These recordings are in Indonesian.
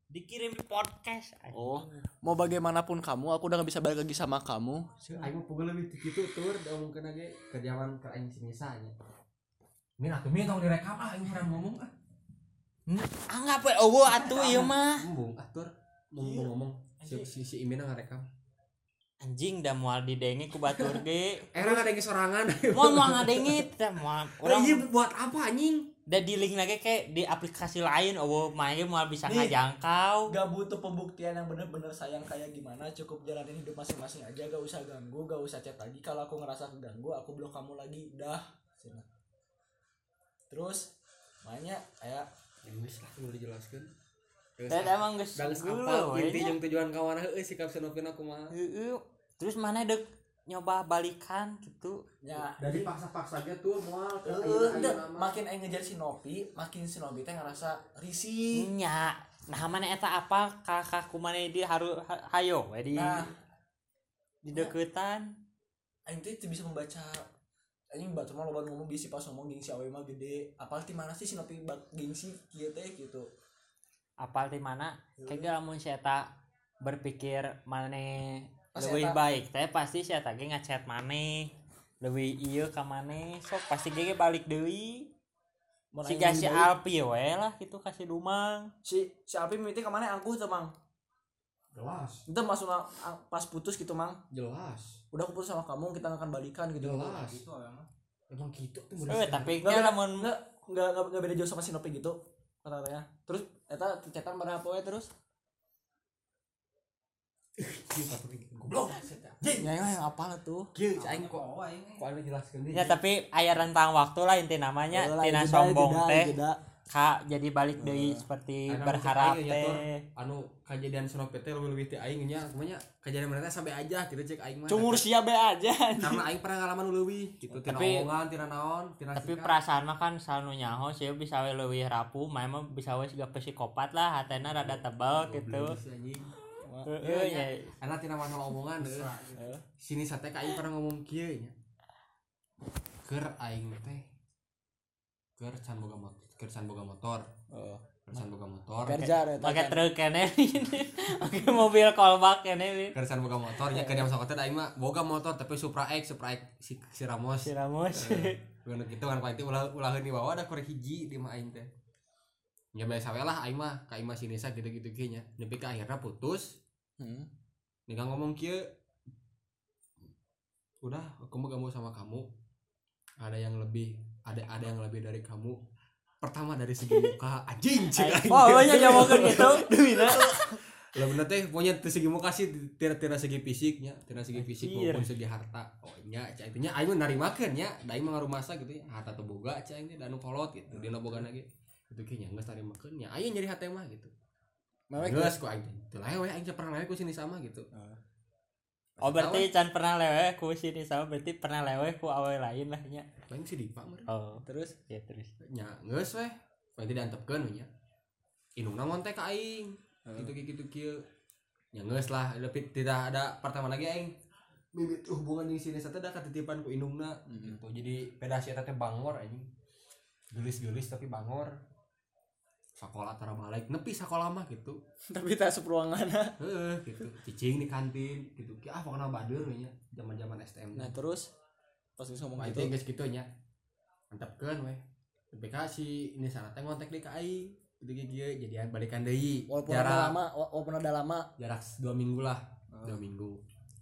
dikirim di podcast. Oh, mau bagaimanapun kamu, aku udah gak bisa balik lagi sama kamu. Aing mah pugel leuwih kitu tur daungkeun ge kerjaan ke aing si Nisa nya. Min atuh min tong direkam aing pernah ngomong Anggap we eueuh atuh ieu mah. Embung atur ngomong si Imina ngarekam. Anjing da moal didenge ku batur ge. Era ngadenge sorangan. Moal ngadenge teh moal Urang ieu buat apa anjing? Da di link lagi kayak di aplikasi lain main moal bisa ngajangkau. Gak butuh pembuktian yang bener-bener sayang kayak gimana, cukup jalanin hidup masing-masing aja, gak usah ganggu, gak usah chat lagi. Kalau aku ngerasa keganggu, aku blok kamu lagi, udah. Terus mainnya kayak Geus lah udah dijelaskeun. Dan emang geus apa inti jeung tujuan kawan heueuh sikap Senopina kumaha. Terus mana dek nyoba balikan gitu. ya Dari paksa-paksa aja tuh moal makin aing ngejar si Nopi, makin si Nopi teh ngerasa risih. Nya, nah mana eta apa kakak kumane di harus hayo we di deketan. Aing teh bisa membaca. Aing batur mah loba ngomong bisi pas ngomong gengsi awe mah gede. Apal ti mana sih si Nopi gengsi kieu teh gitu. Apal di mana? Kayak lamun si eta berpikir maneh Pas lebih eta baik teh pasti si eta ge ngachat maneh. Leuwih ieu ka maneh, sok pasti ge balik deui. Si si Alpi we lah gitu kasih Dumang. Si Alpi mimiti ka maneh angkuh teh Mang. Jelas. Itu maksudnya pas putus gitu Mang. Jelas. Udah aku putus sama kamu, kita akan balikan gitu. Jelas. Gitu Emang gitu tuh. Tapi nya lamun enggak beda jauh sama si Nopi gitu katanya. Terus eta chatan berapa we terus? Goblok. Ya yang apa tuh? Kieu aing kok anu jelaskeun deui. Ya tapi aya rentang waktu lah inti namanya tina sombong teh. Ka jadi balik deui seperti berharap teh. Anu kejadian Senopet teh leuwih ti aing nya kumanya kejadian mereka sampai aja gitu cek aing mah. Cumur sia be aja. Karena aing pernah ngalaman leuwih gitu tina omongan tina naon tina tapi perasaan mah kan selalu nyaho sih bisa we leuwih rapuh mah bisa we siga psikopat lah hatena rada tebal gitu. Heeh nya. Karena tina masalah omongan sini sate ka aing pernah ngomong kieu nya. Keur aing teh keur can boga motor. Keur can boga motor. Kerja Pakai truk kene. Oke mobil callback kene. Keur can boga motor nya keur masuk hotel aing mah boga motor tapi Supra X si Ramos. Bener gitu kan paling ulaheun di bawah ada korek hiji di mah aing teh. Ya biasa we lah aing mah ka imah si Nisa gitu-gitu ge nya. Nepi ka akhirna putus. Nika ngomong kieu. Udah, aku mah gak mau sama kamu. Ada yang lebih dari kamu. Pertama dari segi muka anjing cek. Oh, nya jawakeun gitu. Demina. Lah bener teh pokoknya teu segi muka sih tira segi fisiknya, tira segi fisik maupun segi harta. Oh nya cai teh nya aing mah narimakeun nya, da aing mah ngarumasa gitu ya. Harta teu boga cai teh da anu kolot gitu. Dina bogana ge. Itu ge nya geus narimakeun nya. Aing nyari hate mah gitu. Geus ku aing teh. Teu lewe aing pernah lewe ku sini sama gitu. Oh berarti can pernah lewe ku sini sama berarti pernah lewe ku awe lain lah nya. Paling si Dipa mah. Oh, terus? Ya terus. Nya geus we. Paling diantepkeun we nya. Indungna ngontek ka aing. Gitu kieu. Ya geus lah, tapi tidak ada pertama lagi aing mimit hubungan jeung si Nesa teh da katitipan ku indungna gitu. Jadi pedasi eta teh bangor anjing. Gelis-gelis tapi bangor. Sakola tara balik nepi sakola mah gitu. Tapi tak seperuanganna. Heeh gitu. Cicing di kantin gitu. Ah pokona badur we nya zaman-zaman STM. Nah, terus pas ngomong gitu geus kitu nya. Antepkeun we. Tapi ka si Nesa teh ngontek deui ka aing. Gitu jadian balikan deui. Walaupun ada lama jarak 2 minggu lah. 2 minggu.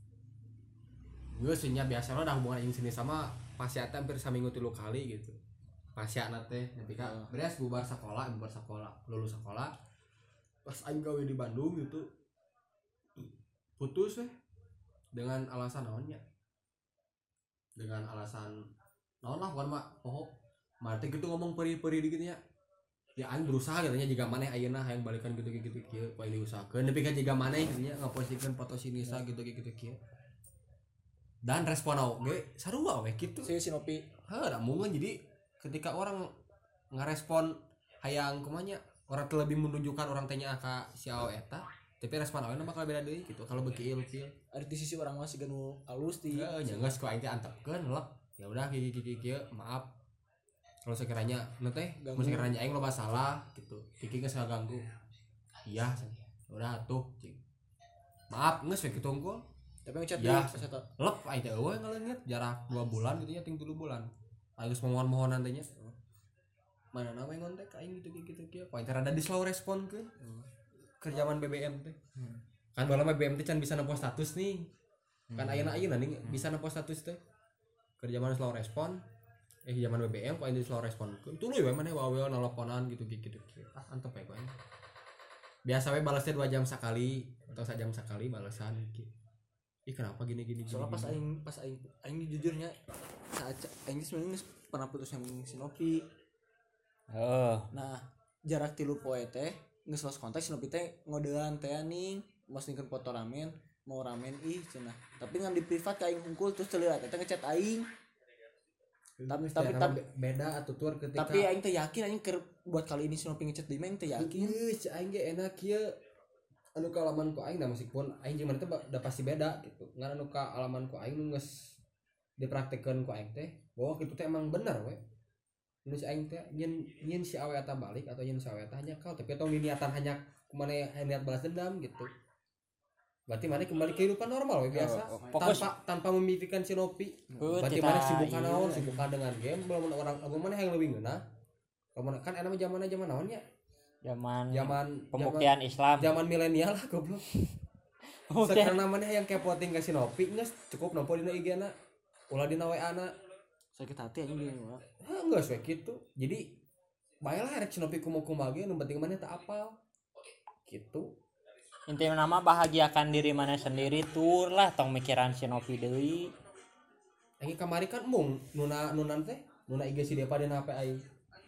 Geus nya biasa lah hubungan aing sini sama pasiat hampir saminggu 3 kali gitu. Pasiatna teh nepi ka beres bubar sekolah, lulus sekolah. Pas aing gawe di Bandung gitu. Putus weh. Dengan alasan naonnya? Dengan alasan naon lah bukan mah poho. Mate gitu ngomong peri-peri dikit nya. Ya aing berusaha katanya jika maneh ayeuna hayang balikan gitu-gitu kieu poe diusahakeun nepi ka jika maneh nya ngapostikeun foto si Nisa gitu-gitu kieu. Dan respon oge sarua we kitu. Si Nopi. Da mungkin jadi ketika orang ngerespon hayang kumanya orang terlebih menunjukkan orang tanya ka si awe eta tapi respon awalnya bakal beda deui gitu kalau beki ieu ada di sisi orang masih ganu alus ti nya geus ku aing teh antepkeun lek ya udah kieu maaf kalau sekiranya nu teh mun sekiranya aing loba salah gitu kiki geus ngaganggu iya udah tuh cing maaf geus we kitu unggul tapi ngechat ya pas eta lep aing teh eueuh ngaleungit jarak 2 bulan gitu nya ting 3 bulan geus mohon-mohonan teh nya mana nama yang ngontek aing gitu kieu pointer ada di slow respon ke kerjaan BBM teh kan bala BBM teh can bisa nempo status nih kan ayeuna nih bisa nempo status teh kerjaan slow respon zaman BBM kok ini slow respon itu lu ya mana wae nelponan gitu antep ya kok biasa we balasnya 2 jam sekali atau 1 jam sekali balasan gitu kenapa gini soalnya pas aing jujurnya saat aing sebenarnya pernah putus yang Sinopi. Nah jarak 3 poe teh geus lost kontak Sinopi teh ngodean teh ning mau singkeun foto ramen mau ramen cenah tapi ngan di privat ka aing hungkul terus teu lihat eta ngechat aing tapi beda atutur ketika tapi aing teh yakin aing buat kali ini Sinopi ngechat deui mah aing teh yakin aing ge enak kieu anu ka alaman ku aing da meskipun aing jeung mana teh da pasti beda gitu ngan anu ka alaman ku aing geus dipraktekkeun ku aing teh bahwa kitu teh emang bener we nu si aing teh nyen si awe eta balik atau nyen si awe eta nyakal tapi tong niatan hanya kumana niat balas dendam gitu berarti mana kembali kehidupan normal we biasa tanpa memikirkan Sinopi berarti mana sibuk naon sibuk dengan game belum orang mana yang lebih ngeunah kan enak zaman naon ya zaman pembuktian Islam zaman milenial lah goblok sekarang namanya yang kepoting ke Sinopi geus cukup nampo dina IG-na ulah dina WA-na sakit hati anjing gini mah geus we kitu jadi baelah rek Sinopi kumaha ge nu penting mana teu apal gitu intinya nama bahagiakan diri mana sendiri tur lah tong mikiran Sinopi deui aing kamari kan mung nunan teh nuna IG si Depa dan HP aing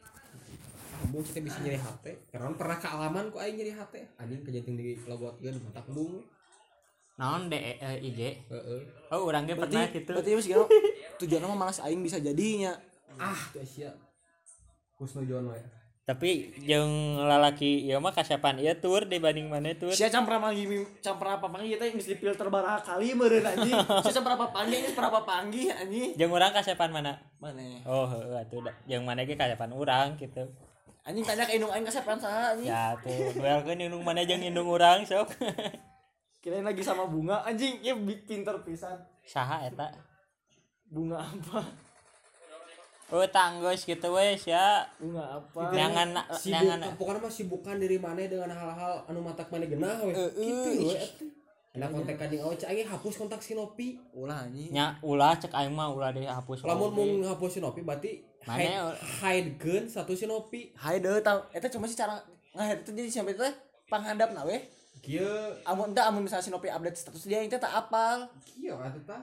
mung kita bisa nyeri HP karena pernah kealaman ku aing nyeri HP anjing kejenting di logotkeun kontak bung naon IG heeh urang ge pernah kitu berarti geus gitu tujuanna mah malas aing bisa jadinya tuh sia kusnujon we tapi jeung lalaki ieu mah kasapan ieu tur dibanding mana tur sia campur apa panggih teh geus difilter baraha kali meureun anjing sia campur apa panggih geus berapa panggih anjing jeung urang kasapan mana oh heuh atuh jeung mana ge kasapan urang gitu anjing tanya ke indung aing kasapan saha anjing ya tuh duelkeun indung mana jeung indung urang sok kirain lagi sama bunga anjing ieu pinter pisan saha eta bunga apa tanggus gitu wes ya bunga apa jangan pokoknya mah sibukan diri mana dengan hal-hal anu matak mana genah we kitu we enak kontekan jeung awe cek aing hapus kontak Sinopi ulah anjing nya ulah cek aing mah ulah dihapus lamun mung hapus Sinopi berarti hidekeun satu Sinopi hide tah eta cuma sih cara ngahide teh jadi sampai teh panghandapna we kieu amun misalnya Sinopi update status dia teh tak apal kieu atuh tah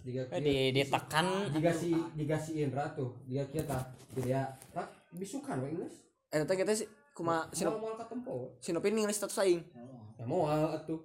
ditekan jika si Indra tuh dia kita jadi ya bisukan we geus eta teh kita sih kumaha Sinopi ningali status aing ya moal atuh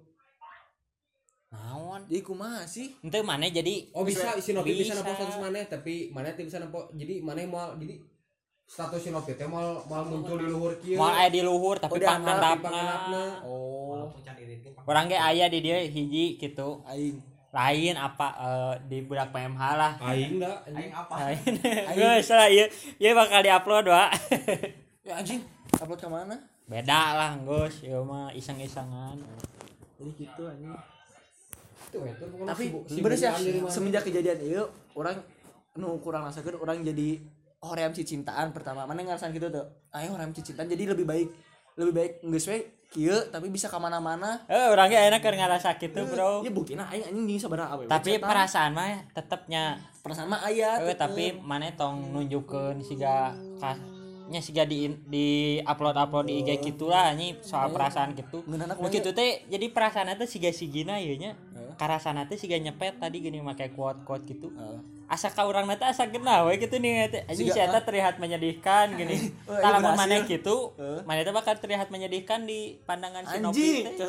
naon jadi kumaha sih henteu maneh jadi bisa Sinopi bisa nampo status maneh tapi maneh teu bisa nampo jadi maneh moal jadi status Sinopi teh moal muncul di luhur kieu moal aya di luhur tapi panghandapna urang ge aya di dieu hiji kitu aing lain apa di budak PMH lah aing da aing apa geus lah ieu bakal diupload wa ya anjing upload ke mana beda lah geus ieu mah iseng-isengan jadi gitu anjing tapi bener sih semenjak kejadian ieu orang nu kurang rasakeun orang jadi hoream cicintaan pertama mana ngarasan gitu tuh ayo hoream cicintaan jadi lebih baik geus we kieu tapi bisa ka mana-mana urang ge ayeuna keur ngarasa kitu bro ya buktina aing anjing jeung sabaraha awewe tapi perasaan mah tetepnya perasaan mah aya tapi maneh tong nunjukkeun siga siga di upload di IG gitulah anjing soal perasaan gitu kitu teh jadi perasaan teh siga sigina ieu nya karasana teh siga nyepet tadi gini make quote gitu asa ka urangna teh asa genah we kitu nih anjing si eta terlihat menyedihkan gini kalau maneh kitu maneh teh bakal terlihat menyedihkan di pandangan Sinopi teh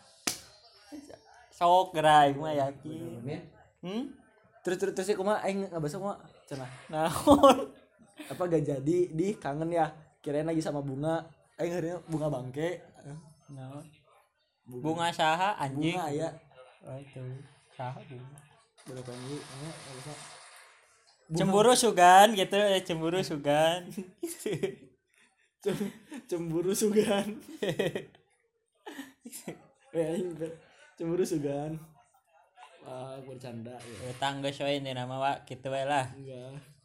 sok gerai mah yakin terus kumaha aing ngabasa kumaha cenah naon apa gak jadi di kangen ya kirain lagi sama bunga aing ngareuna bunga bangke naon bunga saha anjing bunga aya itu saha bunga berapa ini cemburu sugan gitu cemburu sugan cemburu sugan aing cemburu sugan bercanda ya tangga soalnya nama wa gitu we lah enggak